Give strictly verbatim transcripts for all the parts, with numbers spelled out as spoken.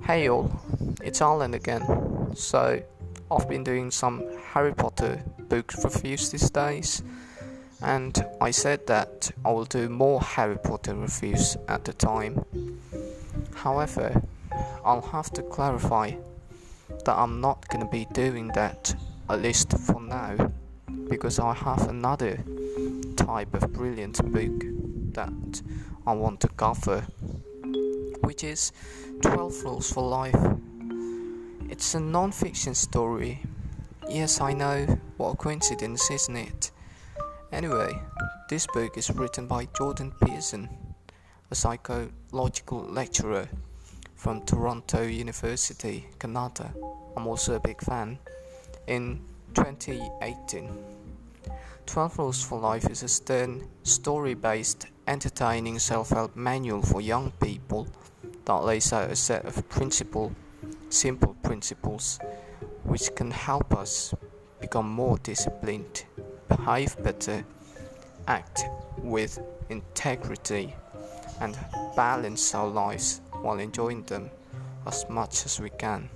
Hey all, it's Alan again. So, I've been doing some Harry Potter book reviews these days, and I said that I will do more Harry Potter reviews at the time. However, I'll have to clarify that I'm not gonna be doing that, at least for now, because I have another type of brilliant book that I want to cover, which is twelve Rules for Life. It's a non-fiction story. Yes, I know, what a coincidence, isn't it? Anyway, this book is written by Jordan Peterson, a psychological lecturer from Toronto University, Canada. I'm also a big fan. In twenty eighteen, twelve Rules for Life is a stern, story-based, entertaining self-help manual for young people that lays out a set of principle, simple principles, which can help us become more disciplined, behave better, act with integrity, and balance our lives while enjoying them as much as we can.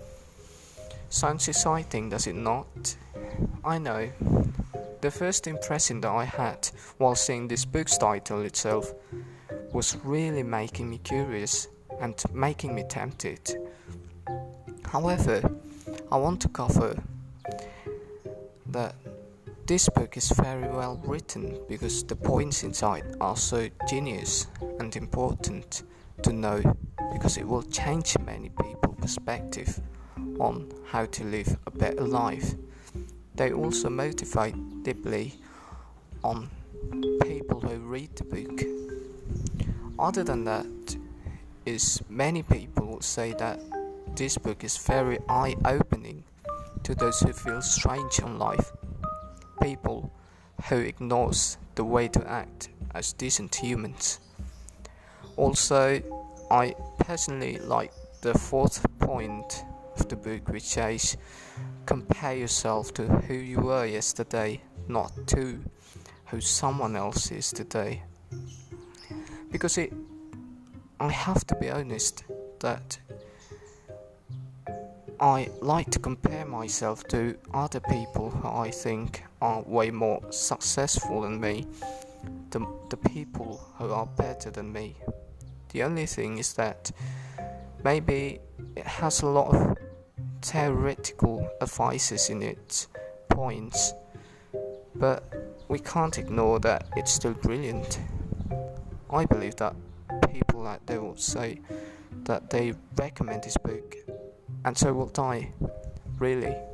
Sounds exciting, does it not? I know. The first impression that I had while seeing this book's title itself was really making me curious and making me tempted. However, I want to cover that this book is very well written because the points inside are so genius and important to know, because it will change many people's perspective on how to live a better life. They also motivate deeply on people who read the book. Other than that, is many people would say that this book is very eye-opening to those who feel strange on life, people who ignores the way to act as decent humans. Also, I personally like the fourth point of the book, which says compare yourself to who you were yesterday, not to who someone else is today. Because it I have to be honest that I like to compare myself to other people who I think are way more successful than me, the, the people who are better than me. The only thing is that maybe it has a lot of theoretical advices in its points, but we can't ignore that it's still brilliant. I believe that people out there will say that they recommend this book, and so will I, really.